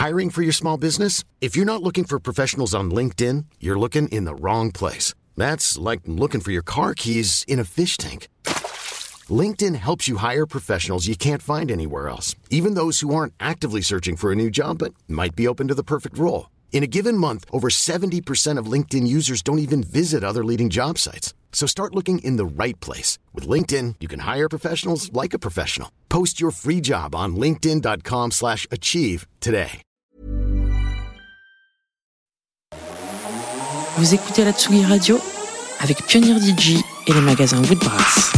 Hiring for your small business? If you're not looking for professionals on LinkedIn, you're looking in the wrong place. That's like looking for your car keys in a fish tank. LinkedIn helps you hire professionals you can't find anywhere else, even those who aren't actively searching for a new job but might be open to the perfect role. In a given month, over 70% of LinkedIn users don't even visit other leading job sites. So start looking in the right place. With LinkedIn, you can hire professionals like a professional. Post your free job on linkedin.com/achieve today. Vous écoutez la Tsugi Radio avec Pionnier DJ et les magasins Woodbrass.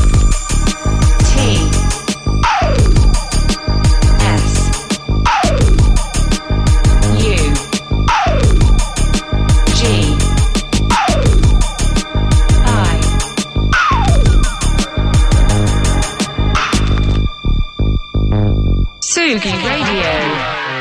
Tsugi Radio.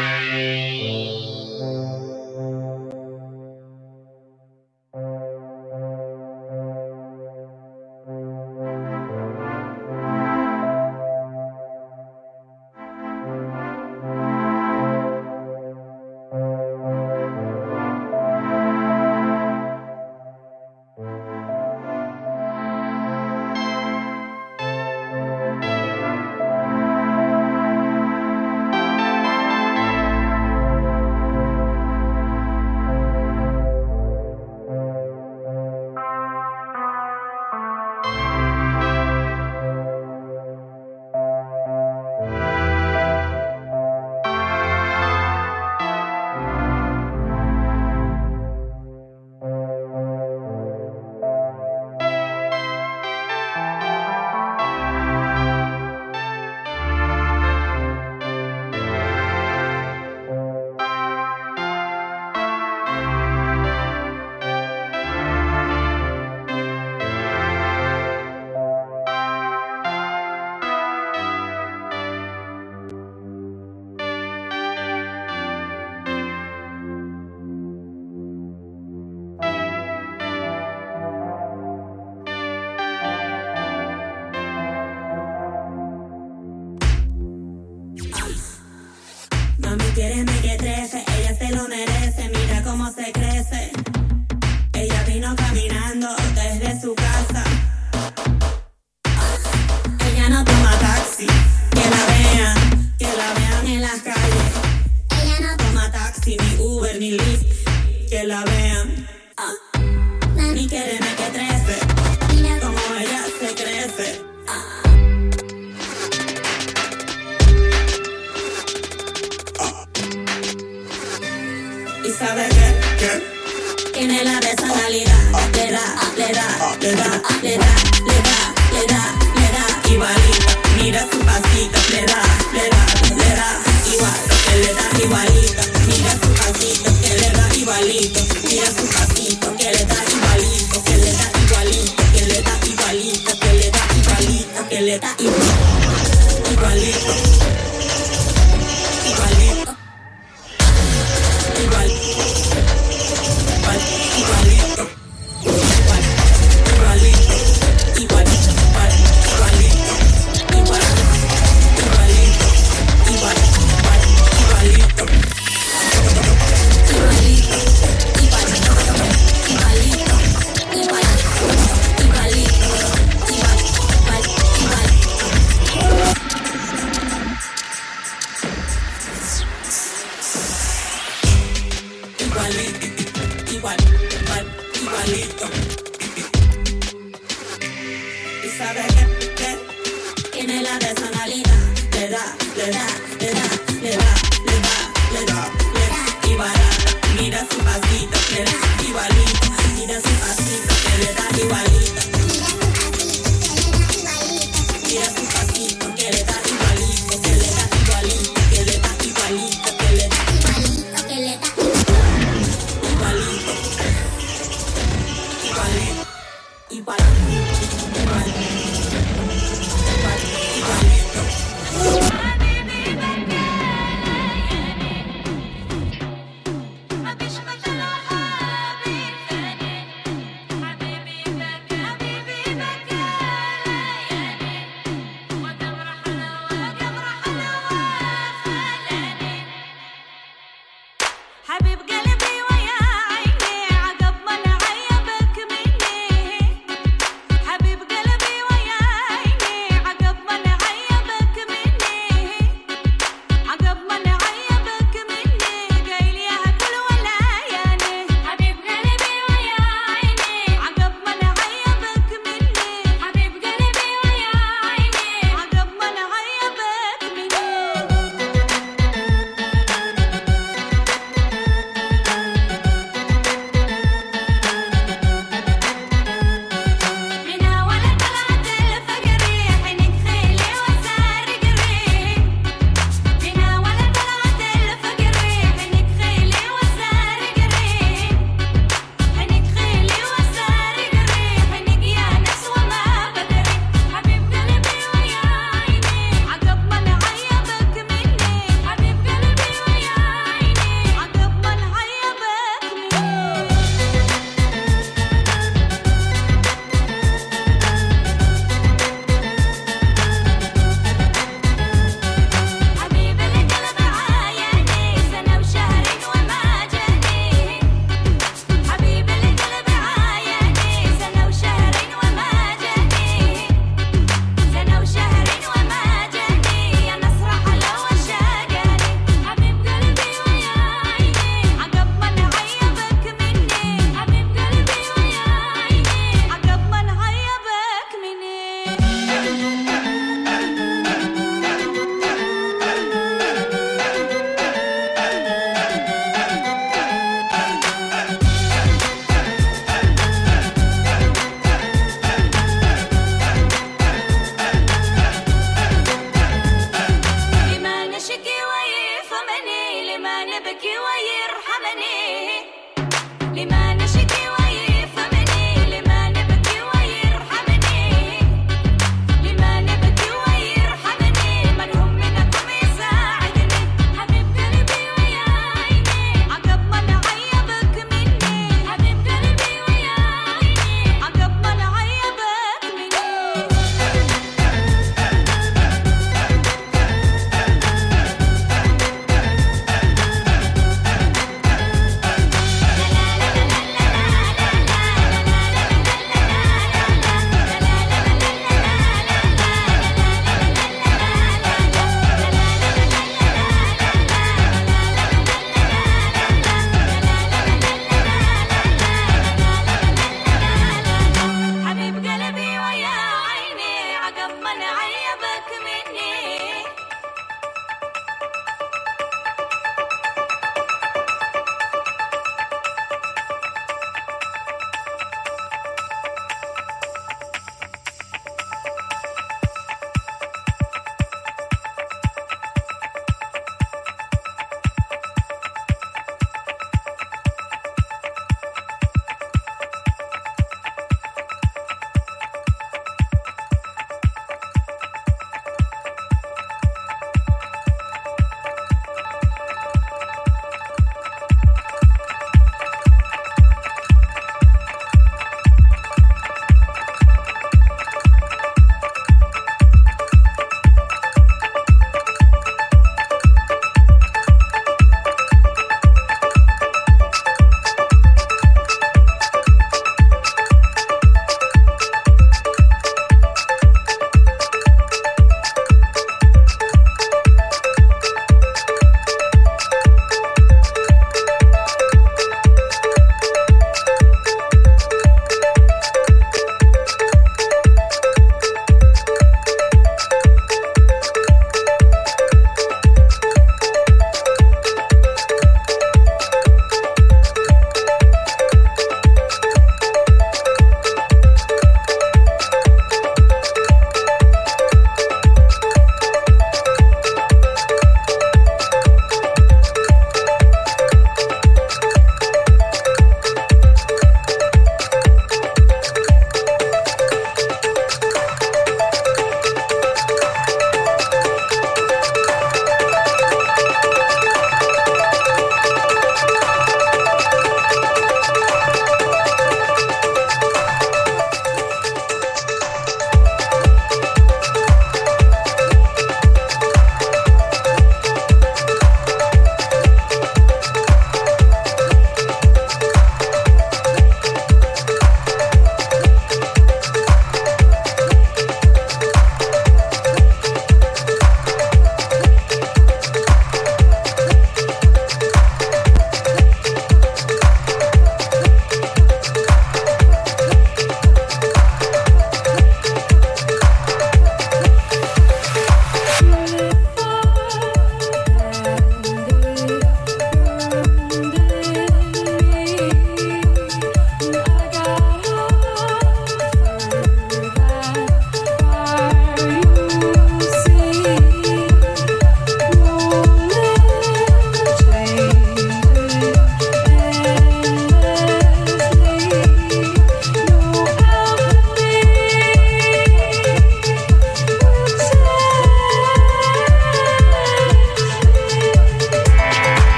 Quiéreme que trece, ella se lo merece, mira cómo se crece. Ella vino caminando desde su casa. Ella no toma taxi, que la vean en las calles. Ella no toma taxi, ni Uber, ni Lyft, que la vean. Mami, quiéreme que trece, mira cómo ella se crece. ¿Y sabe qué? Tiene la personalidad, le da, igualito. Mira su pasito, le da, igual, que le da igualito. Mira su pasito, que le da igualito. Mira su pasito, que le da igualito, que le da igualito, que le da igualito, que le da igualito, que le da igualito, igualito.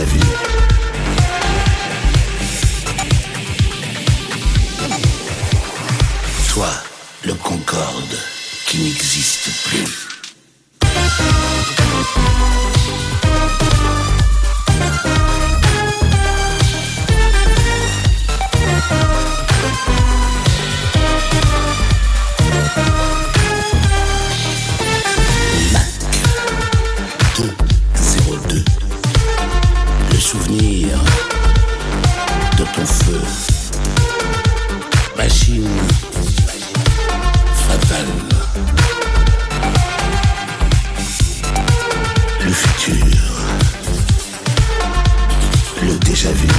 vu. Toi, le Concorde qui n'existe plus. Souvenir de ton feu, machine fatale, le futur, le déjà vu.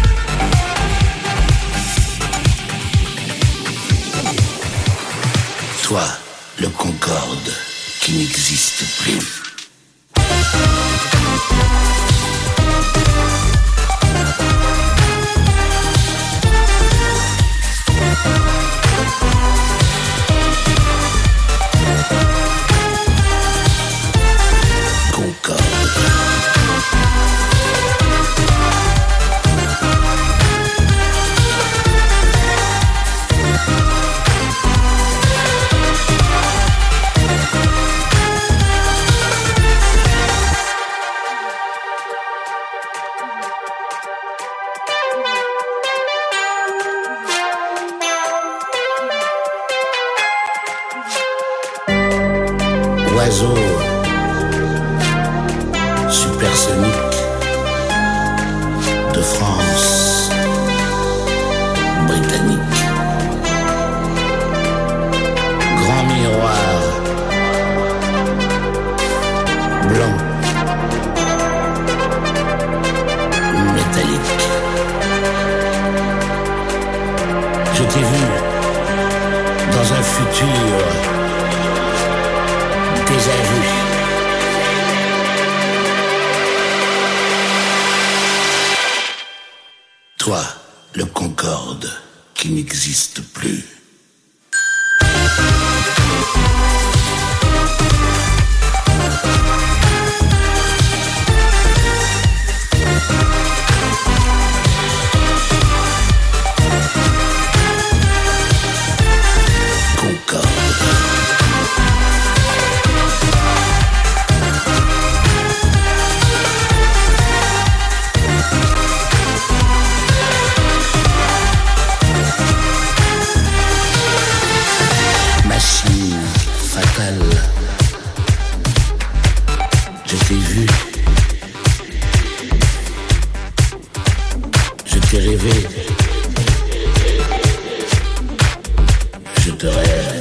Toi, le Concorde qui n'existe plus. Oiseau supersonique de France, britannique, grand miroir blanc, métallique. Je t'ai vu dans un futur déjà vu. Toi, le Concorde qui n'existe plus. Je t'ai vu, je t'ai rêvé, je te rêve.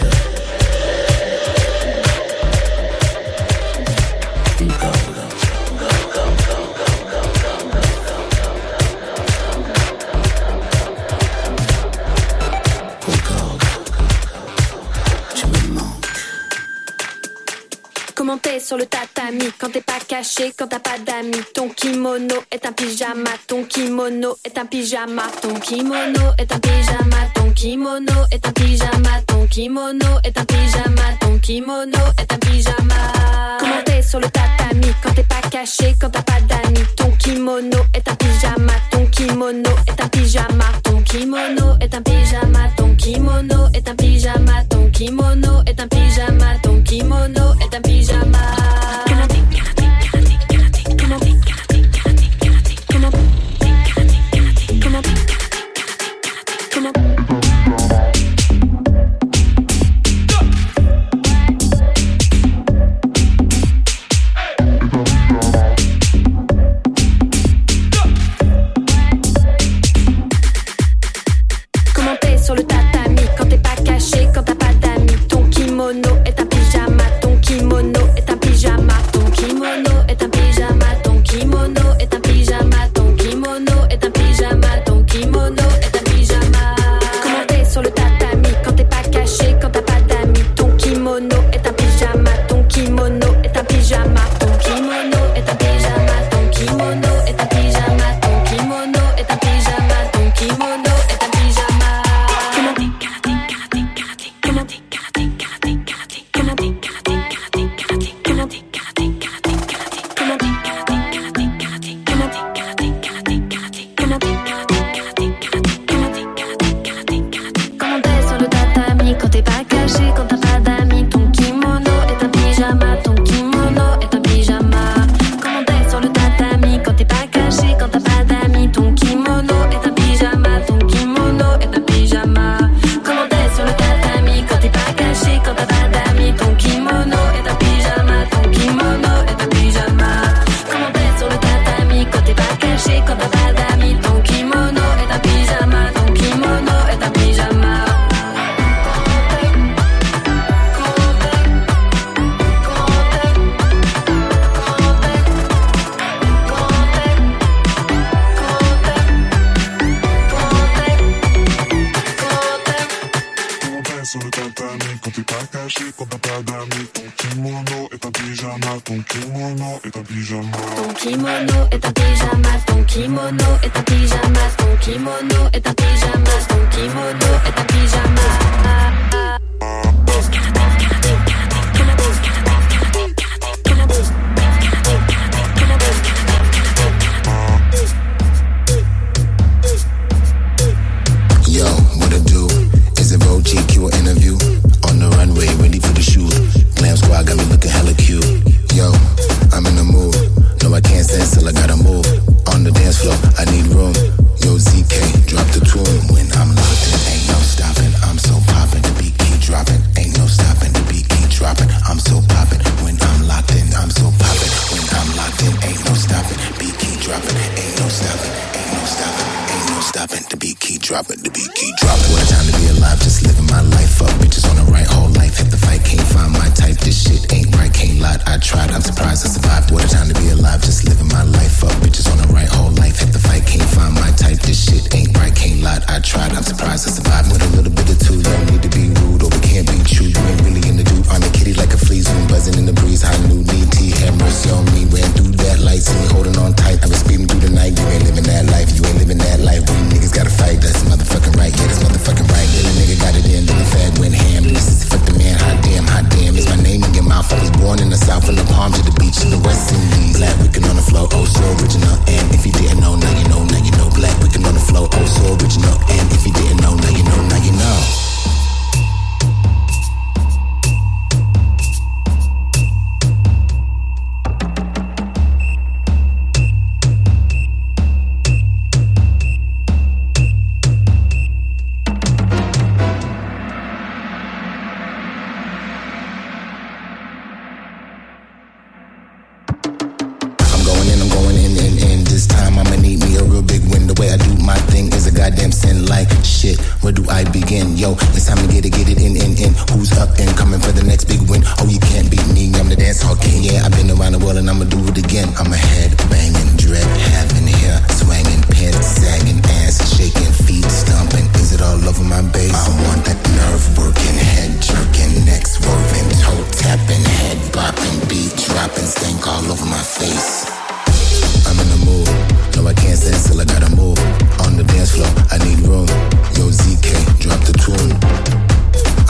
Comment t'es sur le tatami, quand t'es pas caché, quand t'as pas d'amis. Ton kimono est un pyjama, ton kimono est un pyjama. Ton kimono est un pyjama, ton kimono est un pyjama. Ton kimono est un pyjama, ton kimono est un pyjama. Comment t'es sur le tatami, quand t'es pas caché, quand t'as pas d'amis. Ton kimono est un pyjama, ton kimono est un pyjama. Ton kimono est un pyjama, ton kimono est un pyjama. Ton kimono est un pyjama, ton kimono est un pyjama. caché quand t'as pas d'amis. Ton kimono est un pyjama, ton kimono est un pyjama. Ton kimono est un pyjama, ton kimono est un pyjama, ton kimono est un pyjama, ton kimono est un pyjama. Yo, what I do? Is it Vogue GQ or interview? On the runway, ready for the shoot. Glam squad got me looking hella cute. Yo, I'm in the mood. No, I can't stand still, I gotta move. On the dance floor, I need room. Yo, ZK, drop the tune. When I'm locked in, ain't no stopping. I'm so poppin', the beat keep dropping. Ain't no stopping, the beat keep dropping. I'm so poppin'. When I'm locked in, I'm so poppin'. When I'm locked in, ain't no stopping. Beat keep dropping. Ain't no stopping. Ain't no stopping. Ain't no stopping. The beat keep dropping. The beat keep dropping. What a time to be alive, just living my life up. Bitches on the right, whole life. Hit the fight, can't find my type. This shit ain't right, can't lie. I tried, I'm surprised I survived. What a time to be alive, just living my life up. Bitches on the right, whole life. Hit the fight, can't find my type. This shit ain't right, can't lie. I tried, I'm surprised I survived. With a little bit of two, don't need to be rude or we can't be true. You ain't really in the dude. I'm a kitty like a flea, zoom buzzing in the breeze. High new need tea, have mercy on me. Ran through that light, see me holding on tight. I was speeding through the night. You ain't living that life, you ain't living that life. We niggas gotta fight, that's motherfucking right. Yeah, that's motherfucking right. Little nigga got it in, then the fag went ham. This is fuck the man, hot damn. Is my name in your mouth? I was born in the south, from the palms to the beach in the West Indies. Black wicked on the floor, oh so original. And if you didn't know, now you know, now you know. Black wicked on the floor, oh so original. And if you didn't know, now you know, now you know. This time I'ma need me a real big win. The way I do my thing is a goddamn sin. Like shit, where do I begin? Yo, it's time to get it in. Who's up and coming for the next big win? Oh, you can't beat me, I'm the dance hall king. Yeah, I've been around the world and I'ma do it again. I'm a head banging, dread having hair swanging, pants sagging, ass shaking, feet stomping. Is it all over my base? I want that nerve working, head jerking, neck swerving, toe tapping, head bopping, beat dropping, stank all over my face. I'm in the mood. No, I can't stand still, I gotta move. On the dance floor, I need room. Yo, ZK, drop the tune.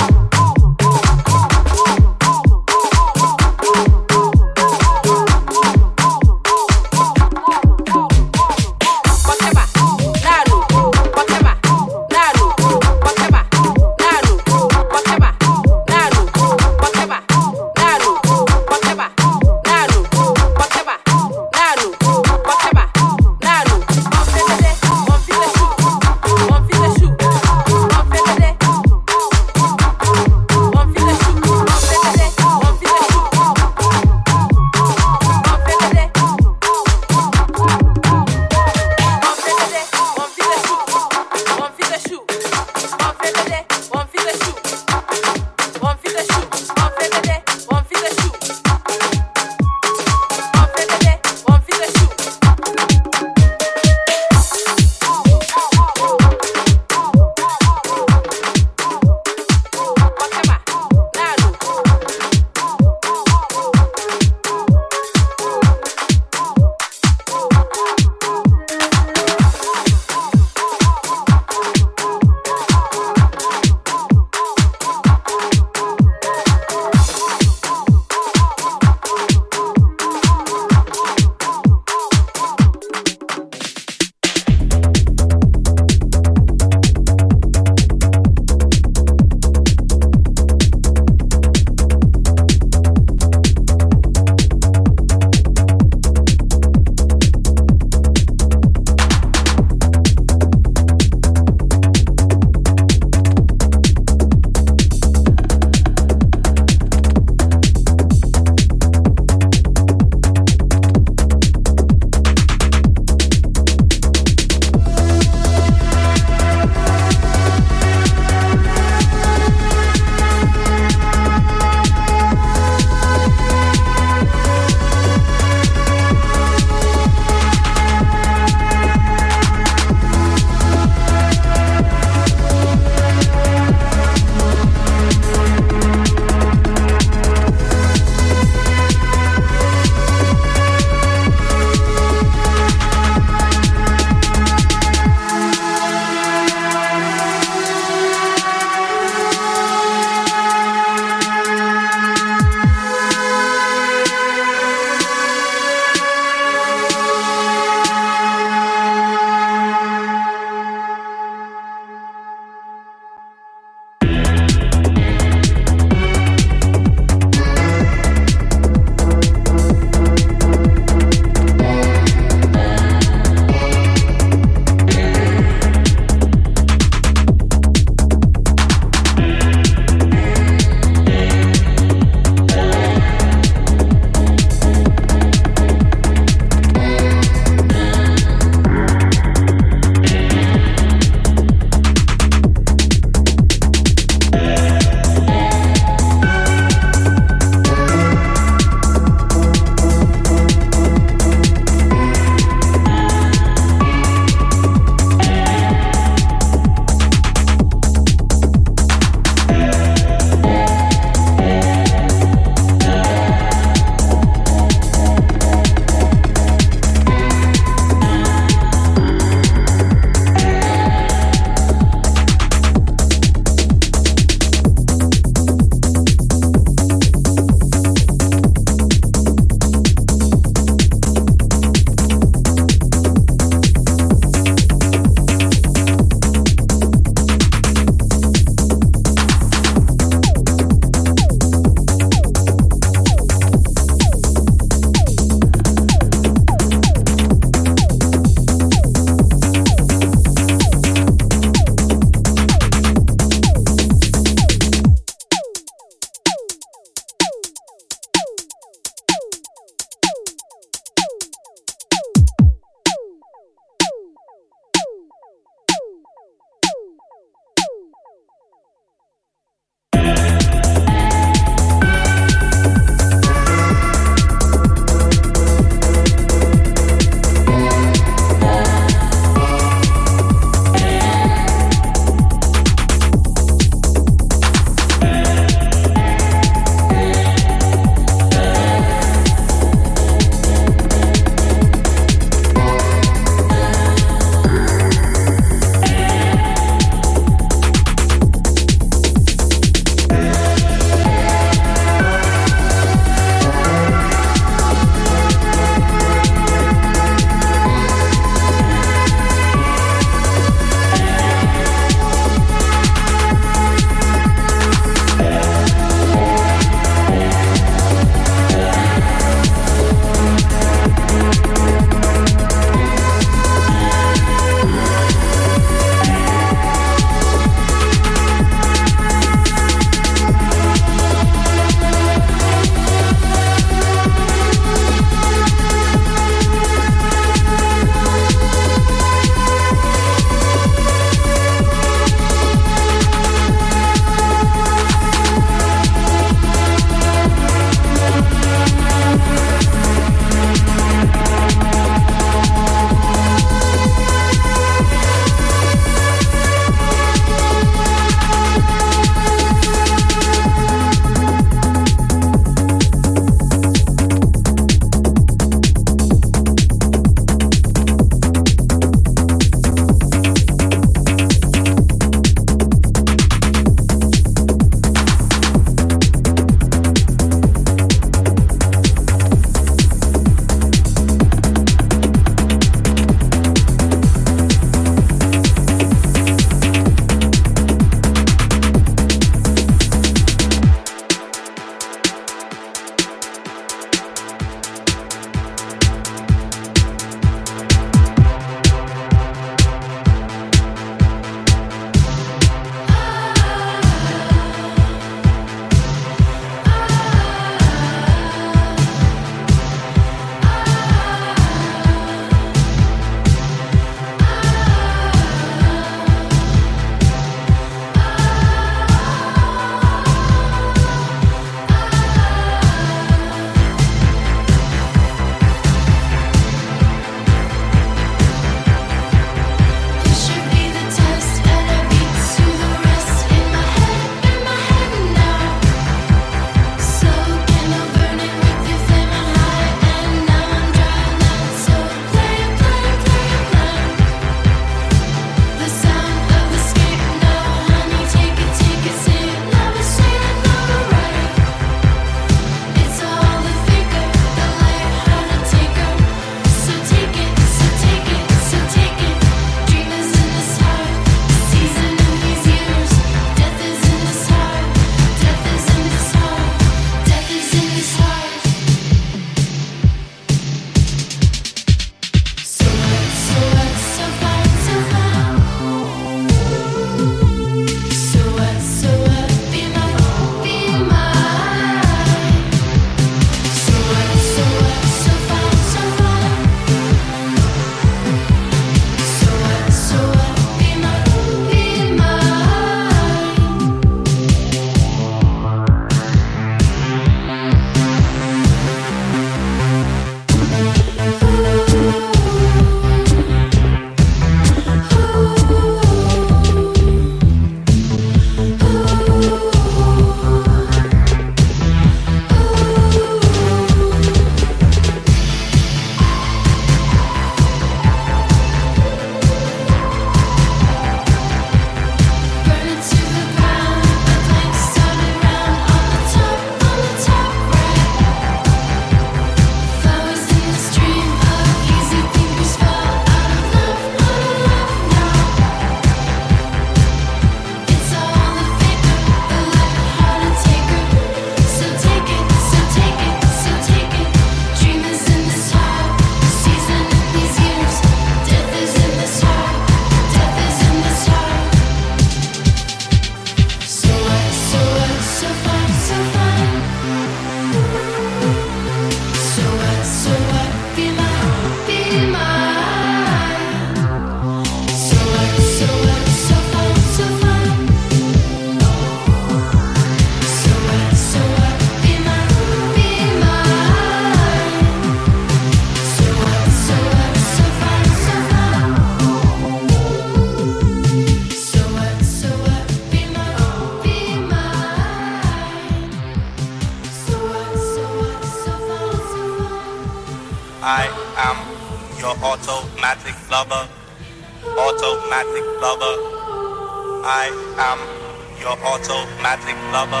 automatic lover, automatic lover. I am your automatic lover.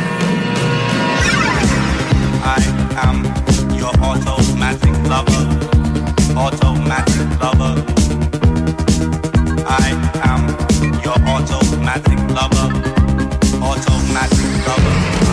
I am your automatic lover, automatic lover. I am your automatic lover, automatic lover.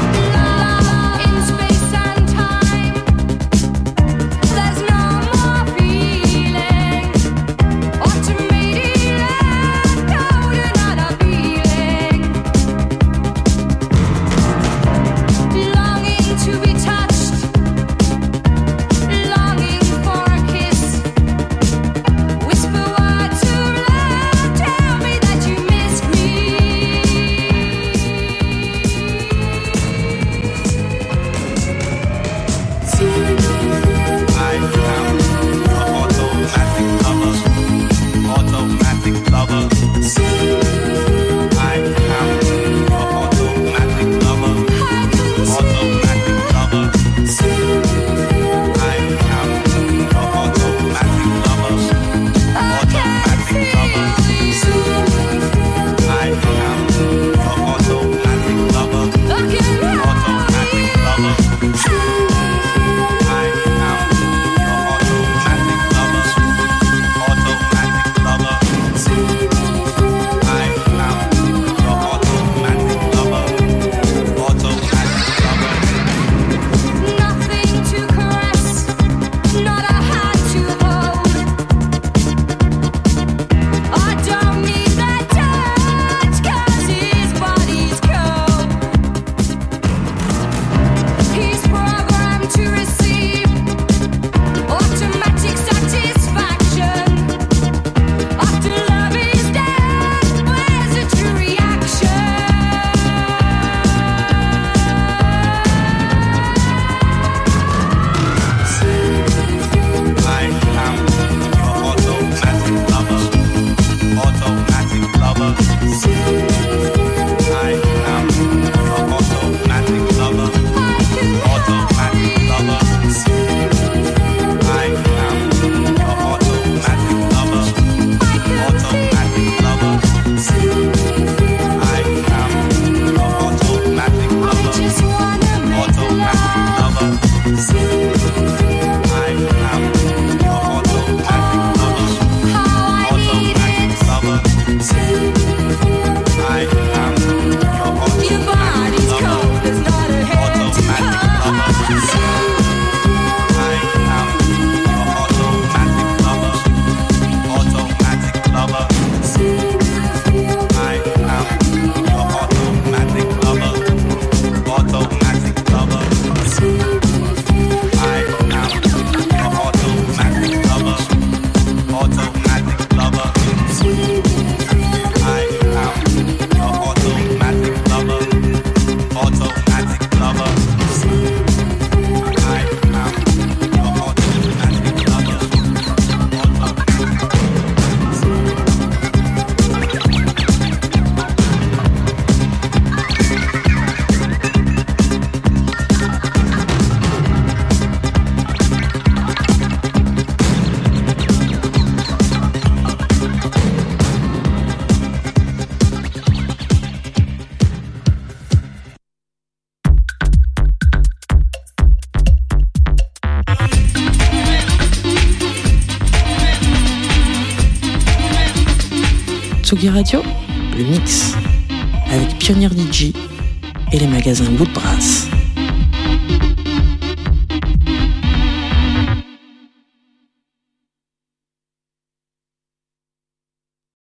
Tsugi Radio, le mix, avec Pionnier DJ et les magasins Woodbrass.